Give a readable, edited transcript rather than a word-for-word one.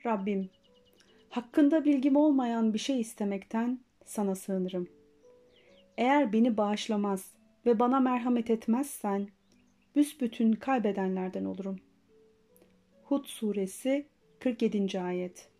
Rabbim, hakkında bilgim olmayan bir şey istemekten sana sığınırım. Eğer beni bağışlamaz ve bana merhamet etmezsen, büsbütün kaybedenlerden olurum. Hud suresi 47. ayet.